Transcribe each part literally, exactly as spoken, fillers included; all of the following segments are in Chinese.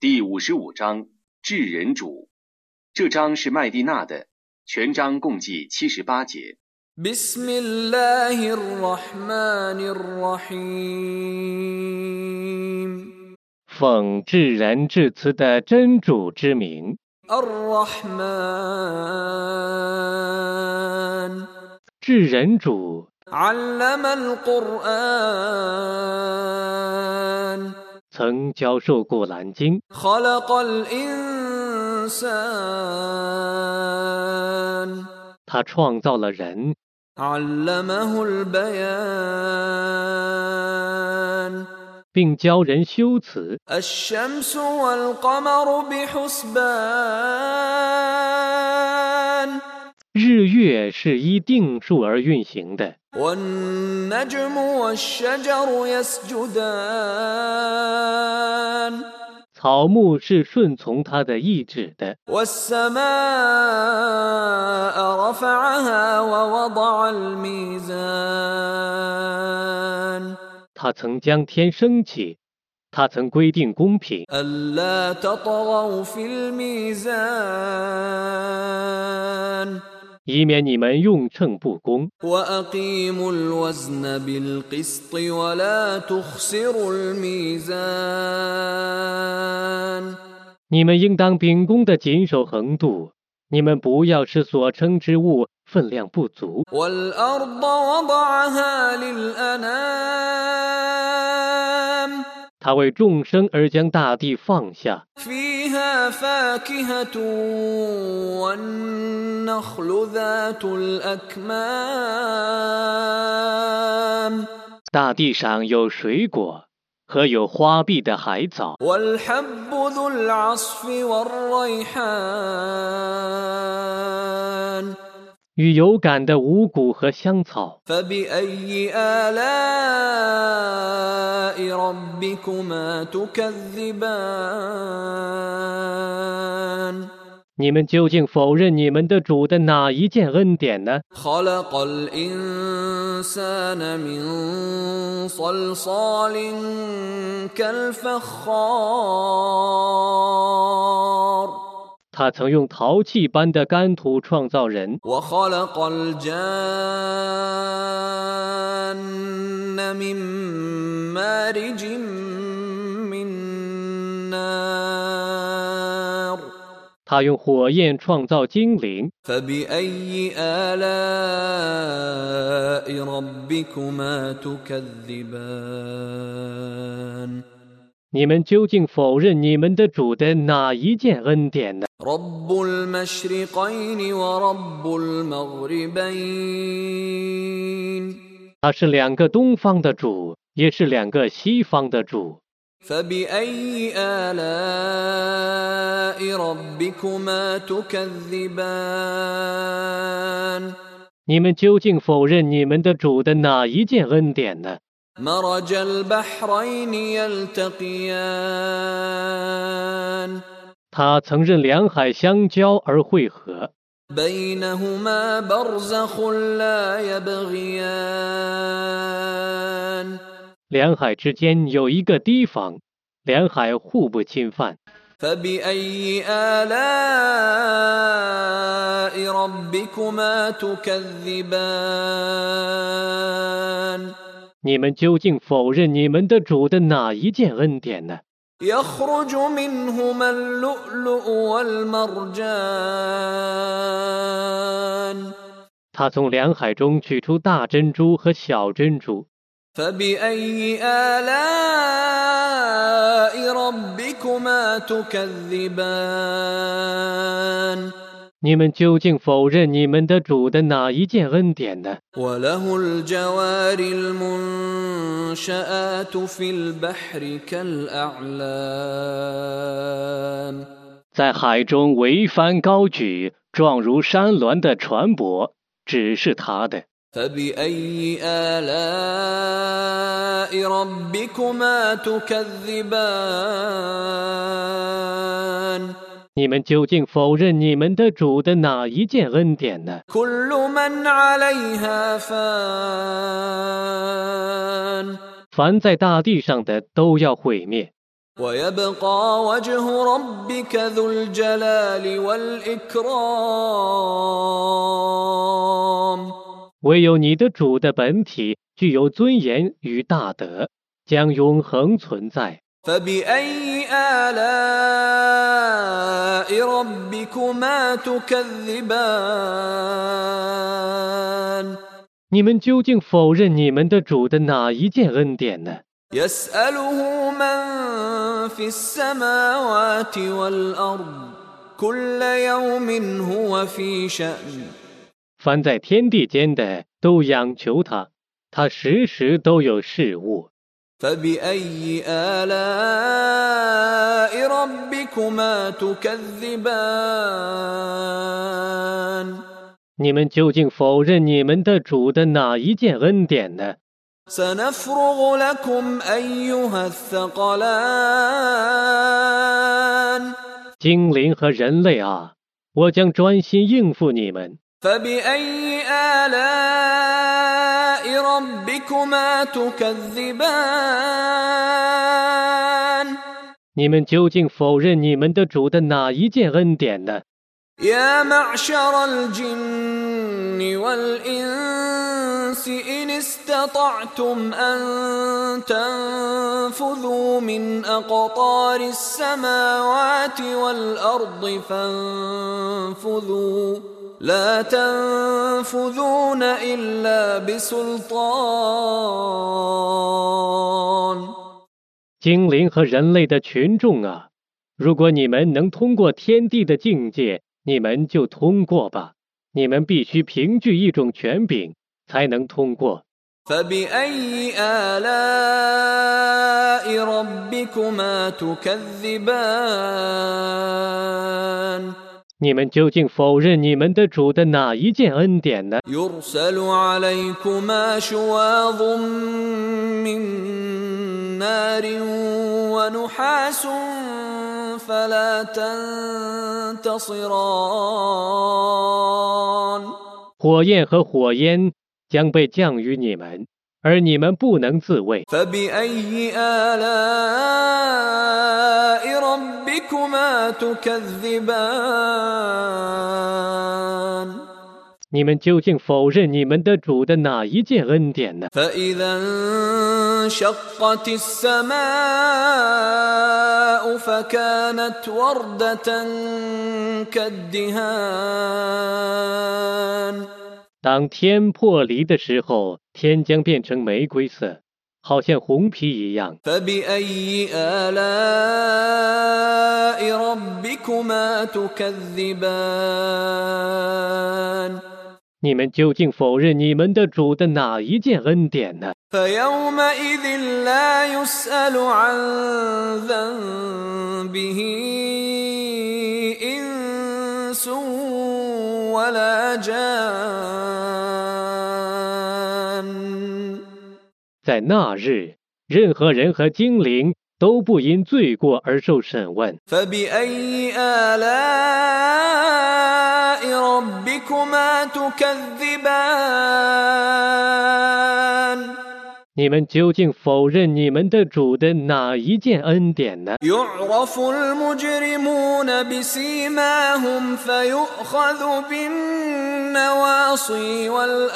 第五十五章至人主。这章是麦地那的，全章共计七十八节。 بسم الله الرحمن الرحيم 奉至仁至慈的真主之名。 الرحمن 至仁主 علم القرآن 曾教授过兰经， خلق الإنسان 他创造了人， علمه البيان 并教人修辞。 الشمس والقمر بحسبان 日月是依定数而运行的， والنجم والشجر يسجدان 草木是顺从他的意志的。 والسماء رفعها ووضع الميزان 他曾将天升起，他曾规定公平， ألا تطغوا في الميزان 以免你们用秤不公。 وأقيموا الوزن بالقسط ولا تخسروا الميزان 你们应当秉公的谨守衡度，你们不要使所称之物分量不足。 والأرض وضعها للأنام 他为众生而将大地放下， فيها فاكهة والنخل ذات الأكمام 大地上有水果和有花碧的海藻， والحب ذو العصف والريحان 与有感的五谷和香草。 فبأي آلاء ربكما تكذبان 你们究竟否认你们的主的哪一件恩典呢？ خلق الإنسان من صلصال كالفخار 他曾用陶器般的干土创造人， وخلق الجان من مارج من نار 他用火焰创造精灵。 فبأي آلاء ربكما تكذبان 你们究竟否认你们的主的哪一件恩典呢？ رب المشرقين ورب المغربين 他是两个东方的主，也是两个西方的主。 فبأي آلاء ربكما تكذبان 你们究竟否认你们的主的哪一件恩典呢？ مرج البحرين يلتقيان 他曾任两海相交而汇合， بينهما برزخ لا يبغيان 两海之间有一个堤防，两海互不侵犯。 فبأي آلاء ربكما تكذبان 你们究竟否认你们的主的哪一件恩典呢？ يخرج منهما اللؤلؤ والمرجان 他从两海中取出大珍珠和小珍珠。 فبأي آلاء ربكما تكذبان 你们究竟否认你们的主的哪一件恩典呢？ وله الجوار المنشآت في البحر كالأعلام 在海中桅帆高举，状如山峦的船舶，只是他的。 فبأي آلاء ربكما تكذبان 你们究竟否认你们的主的哪一件恩典呢？ كل من عليها فان 凡在大地上的都要毁灭， ويبقى وجه ربك ذو الجلال والإكرام 唯有你的主的本体具有尊严与大德，将永恒存在。 فبأي آلاء ربكما تكذبان 你们究竟否认你们的主的哪一件恩典呢？ يسأله من في السماوات والأرض كل يوم هو في شأن 凡在天地间的都仰求他，他时时都有事务。 فبأي آلاء ربكما تكذبان 你们究竟否认你们的主的哪一件恩典呢？ سنفرغ لكم أيها الثقلان 精灵和人类啊，我将专心应付你们。 فبأي آلاء ربكما تكذبان 你们究竟否认你们的主的哪一件恩典呢？ يا معشر الجن والإنس إن استطعتم أن تنفذوا من أقطار السماوات والأرض فانفذوا لا تنفذون إلا بسلطان 精灵和人类的群众啊，如果你们能通过天地的境界，你们就通过吧。你们必须凭据一种权柄才能通过。 فبأي آلاء ربكما تكذبان 你们究竟否认你们的主的哪一件恩典呢？ يرسل عليكما شواظ من نار ونحاس فلا تنتصران 火焰和火焰将被降于你们，而你们不能自卫。 فبأي آلاء ربكما تكذبان 你们究竟否认你们的主的哪一件恩典呢？ فإذا انشقت السماء فكانت وردة كالدهان 当天破离的时候，天将变成玫瑰色，好像红皮一样。 فبأي آلاء ربكما تكذبان 你们究竟否认你们的主的哪一件恩典呢？ فيومئذ لا يسأل عن ذنبه إنس ولا جان 在那日，任何人和精灵都不因罪过而受审问。 فبأي آلاء ربكما تكذبان 你们究竟否认你们的主的哪一件恩典呢？ يعرف المجرمون بسيماهم فيؤخذ بالنواصي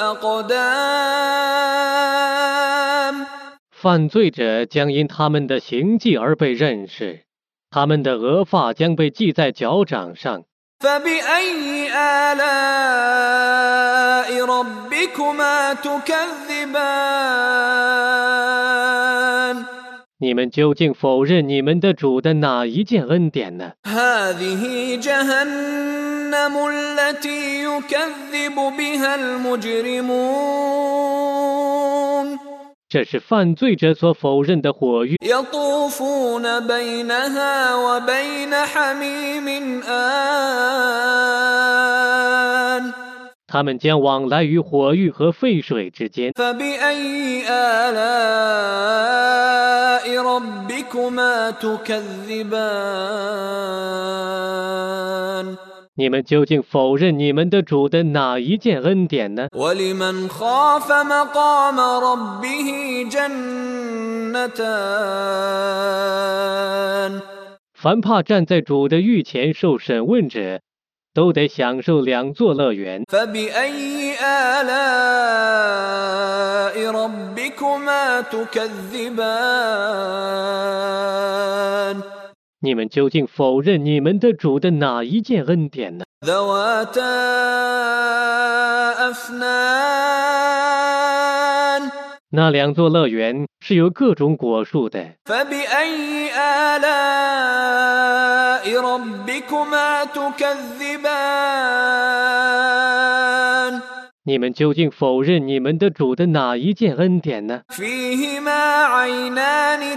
والأقدام 犯罪者将因他们的行迹而被认识，他们的额发将被系在脚掌上。 فبأي آلاء ربكما تكذبان 你们究竟否认你们的主的哪一件恩典呢？ هذه جهنم التي يكذب بها المجرمون 这是犯罪者所否认的火狱， يطوفون بينها وبين حميم آن 他们将往来于火狱和沸水之间。 فبأي آلاء ربكما تكذبان 你们究竟否认你们的主的哪一件恩典呢？ وَلِمَنْ خَافَ مَقَامَ رَبِّهِ جَنَّتَانِ 凡怕站在主的御前受审问者，都得享受两座乐园。 فَبِأَيِّ آلَاءِ رَبِّكُمَا تُكَذِّبَانِ 你们究竟否认你们的主的哪一件恩典呢？ ذَوَاتَا أَفْنَانٍ 那两座乐园是由各种果树的。 فَبِأَيِّ آلَاءِ رَبِّكُمَا تُكَذِّبَانِ 你们究竟否认你们的主的哪一件恩典呢？ فِيهِمَا عَيْنَانِ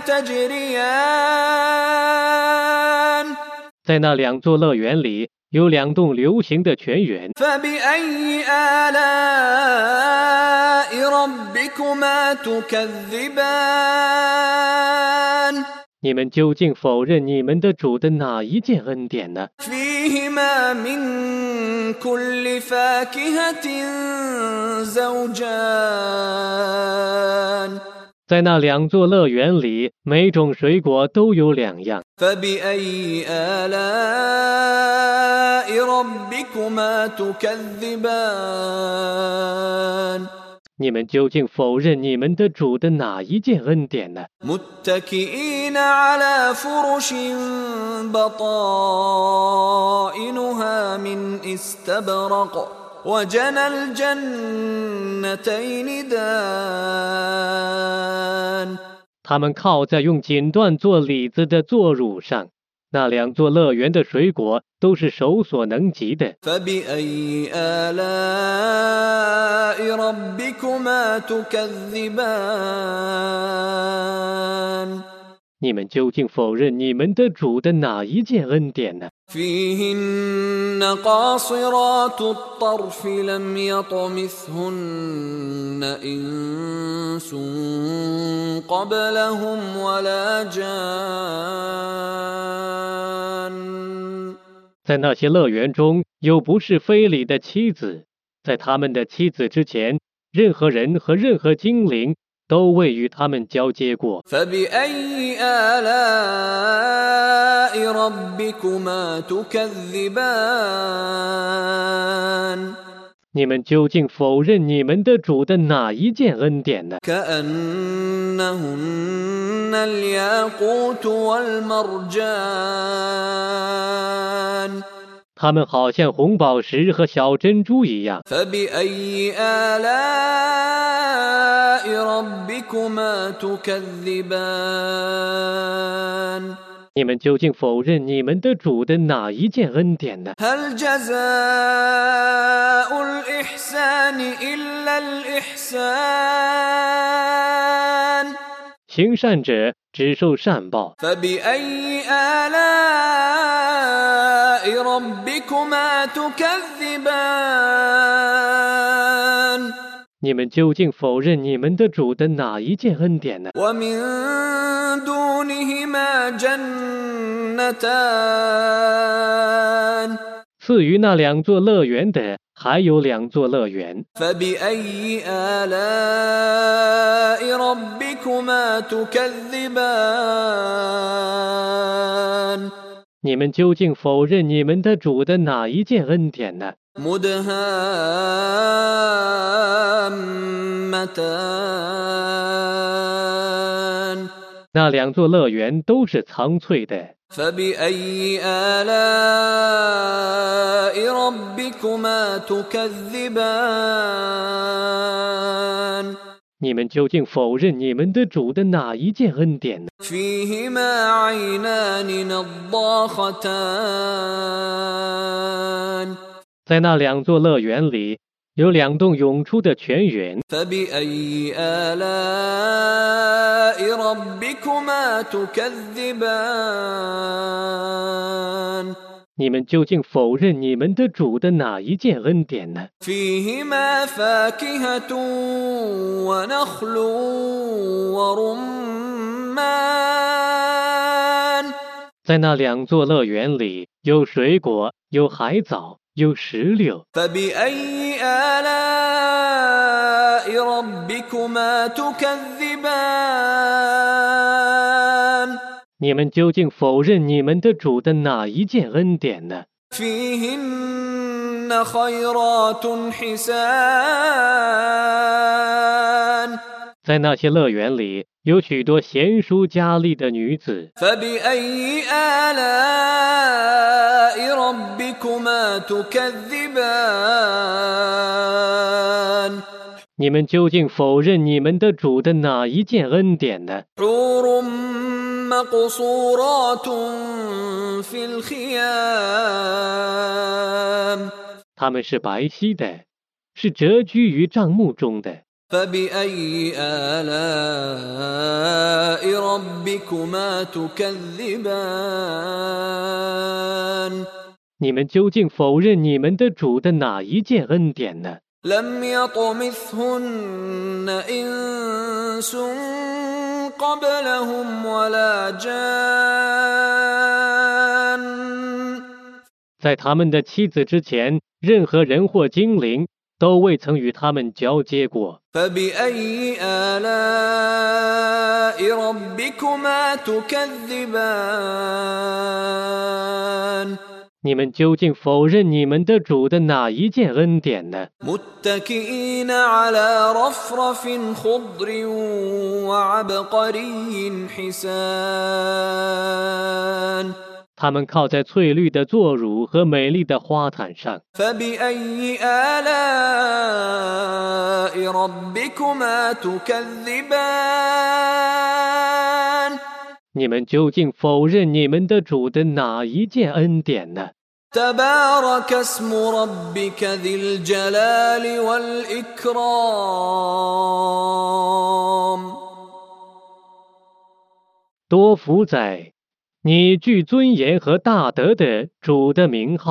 تَجْرِيَانِ 在那两座乐园里有两栋流行的泉源。 فَبِأَيِّ آلَاءِ رَبِّكُمَا تُكَذِّبَانِ 你们究竟否认你们的主的哪一件恩典呢？ فِيهِمَا مِن كُلِّ فَاكِهَةٍ زَوْجَانِ 在那两座乐园里，每种水果都有两样。 فَبِأَيِّ آلَاءِ رَبِّكُمَا تُكَذِّبَانِ 你们究竟否认你们的主的哪一件恩典呢？ مُتَّكِئِينَ عَلَى فُرُشٍ بَطَائِنُهَا مِنْ إِسْتَبْرَقٍ وَجَنَى الْجَنَّتَيْنِ دَانٍ 他们靠在用锦缎做里子的座褥上，那两座乐园的水果都是手所能及的。 فَبِأَيِّ آلَاءِ رَبِّكُمَا تُكَذِّبَانِ 你们究竟否认你们的主的哪一件恩典呢？ فِيهِنَّ قَاصِرَاتُ الطَّرْفِ لَمْ يَطْمِثْهُنَّ إِنسٌ قَبْلَهُمْ وَلَا جَانٌّ 在那些乐园中有不是非礼的妻子，在他们的妻子之前，任何人和任何精灵都未与他们交接过。 فَبِأَيِّ آلَاءِ رَبِّكُمَا تُكَذِّبَانِ 你们究竟否认你们的主的哪一件恩典呢？ كَأَنَّهُنَّ الْيَاقُوتُ وَالْمَرْجَانُ 它们好像红宝石和小珍珠一样。 فَبِأَيِّ آلَاءِ رَبِّكُمَا تُكَذِّبَانِ 你们究竟否认你们的主的哪一件恩典呢？ هَلْ جَزَاءُ الْإِحْسَانِ إِلَّا الْإِحْسَانُ 行善者只受善报。 فَبِأَيِّ آلَاءِ رَبِّكُمَا تُكَذِّبَانِ 你们究竟否认你们的主的哪一件恩典呢？ وَمِن دُونِهِمَا جَنَّتَانِ 赐予那两座乐园的还有两座乐园。 فَبِأَيِّ آلَاءِ رَبِّكُمَا تُكَذِّبَانِ 你们究竟否认你们的主的哪一件恩典呢？ مُدْهَامَّتَانِ 那两座乐园都是苍翠的。 فَبِأَيِّ آلَاءِ رَبِّكُمَا تُكَذِّبَانِ 你们究竟否认你们的主的哪一件恩典呢？ فِيهِمَا عَيْنَانِ نَضَّاخَتَانِ 在那两座乐园里有两栋涌出的泉源。 فَبِأَيِّ آلَاءِ رَبِّكُمَا تُكَذِّبَانِ 你们究竟否认你们的主的哪一件恩典呢？ فِيهِمَا فَاكِهَةٌ وَنَخْلٌ وَرُمَّانٌ 在那两座乐园里有水果， 有海藻，有石榴。 فبأي آلاء ربكما تكذبان 你们究竟否认你们的主的哪一件恩典呢？ فيهن خيرات حسان 在那些乐园里，有许多贤淑佳丽的女子。 فبأي آلاء ربكما تكذبان 你们究竟否认你们的主的哪一件恩典呢？ حور مقصورات في الخيام 他们是白皙的，是蛰居于帐幕中的。 فبأي آلاء ربكما تكذبان 你们究竟否认你们的主的哪一件恩典呢？ لم يطمثهن إنس قبلهم ولا جان 在他们的妻子之前，任何人或精灵都未曾与他们交接过。 فبأي آلاء ربكما تكذبان 你们究竟否认你们的主的哪一件恩典呢？ متكئين على رفرف خضر وعبقري حسان 他们靠在翠绿的座乳和美丽的花毯上。 فبأي آلاء ربكما تكذبان 你们究竟否认你们的主的哪一件恩典呢？ تبارك اسم ربك ذي الجلال والإكرام 多福在你具尊严和大德的主的名号。